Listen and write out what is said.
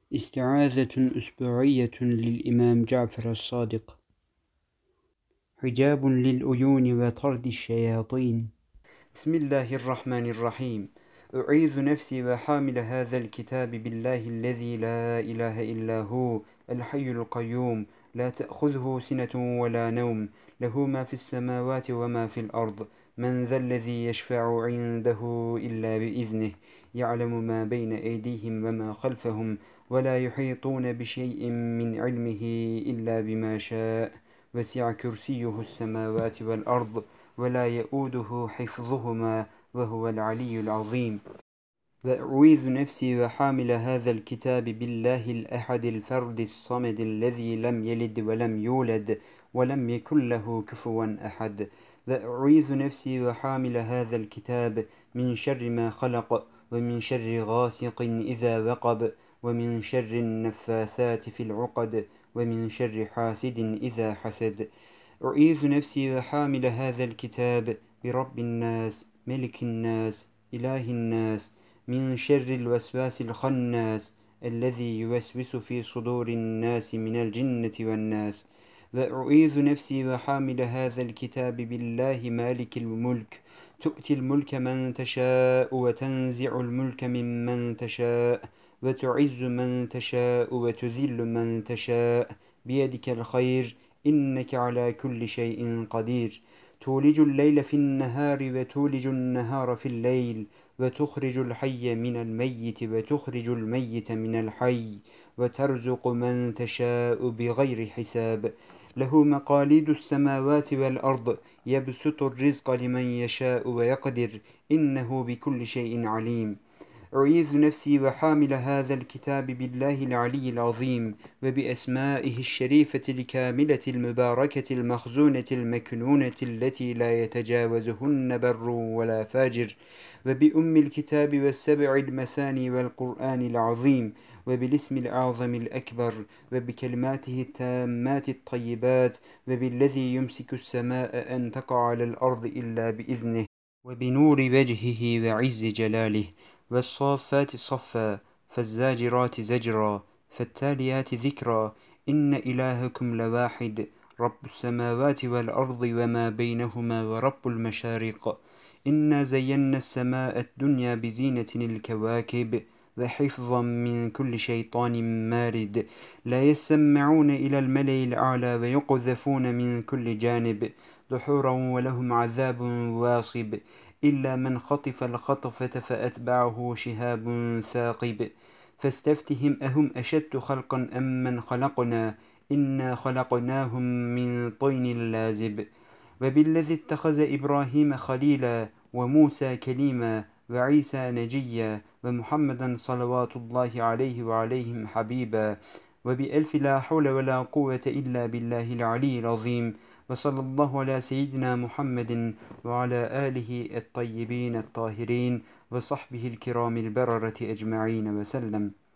استعاذة أسبوعية للإمام جعفر الصادق. حجاب للعيون وطرد الشياطين. بسم الله الرحمن الرحيم. أعيذ نفسي وحامل هذا الكتاب بالله الذي لا إله إلا هو الحي القيوم لا تأخذه سنة ولا نوم له ما في السماوات وما في الأرض من ذا الذي يشفع عنده إلا بإذنه يعلم ما بين أيديهم وما خلفهم ولا يحيطون بشيء من علمه إلا بما شاء وسع كرسيه السماوات والأرض ولا يؤوده حفظهما وهو العلي العظيم. وأعوذ نفسي وحامل هذا الكتاب بالله الأحد الفرد الصمد الذي لم يلد ولم يولد ولم يكن له كفوا أحد. وأعوذ نفسي وحامل هذا الكتاب من شر ما خلق ومن شر غاسق إذا وقب ومن شر النفاثات في العقد ومن شر حاسد إذا حسد. أعيذ نفسي وحامل هذا الكتاب برب الناس ملك الناس إله الناس من شر الوسواس الخناس الذي يوسوس في صدور الناس من الجنة والناس. وأعيذ نفسي وحامل هذا الكتاب بالله مالك الملك تؤتي الملك من تشاء وتنزع الملك ممن تشاء وتعز من تشاء وتذل من تشاء بيدك الخير إنك على كل شيء قدير. تولج الليل في النهار وتولج النهار في الليل وتخرج الحي من الميت وتخرج الميت من الحي وترزق من تشاء بغير حساب. له مقاليد السماوات والأرض يبسط الرزق لمن يشاء ويقدر إنه بكل شيء عليم. أعيذ نفسي وحامل هذا الكتاب بالله العلي العظيم وبأسمائه الشريفة الكاملة المباركة المخزونة المكنونة التي لا يتجاوزهن بر ولا فاجر وبأم الكتاب والسبع المثاني والقرآن العظيم وبالاسم الأعظم الأكبر وبكلماته التامات الطيبات وبالذي يمسك السماء أن تقع على الأرض إلا بإذنه وبنور وجهه وعز جلاله. والصافات صفا فالزاجرات زجرا فالتاليات ذكرا إن إلهكم لواحد رب السماوات والأرض وما بينهما ورب المشارق. إنا زينا السماء الدنيا بزينة الكواكب وحفظا من كل شيطان مارد لا يسمعون إلى الملأ الأعلى ويقذفون من كل جانب دحورا ولهم عذاب واصب إلا من خطف الخطفة فأتبعه شهاب ثاقب. فاستفتهم أهم أشد خلقا أم من خلقنا إنا خلقناهم من طين لازب. وبالذي اتخذ إبراهيم خليلا وموسى كليما وعيسى نجيا ومحمدا صلوات الله عليه وعليهم حبيبا. وبألف لا حول ولا قوة إلا بالله العلي العظيم. وصلى الله على سيدنا محمد وعلى آله الطيبين الطاهرين وصحبه الكرام البررة أجمعين وسلم.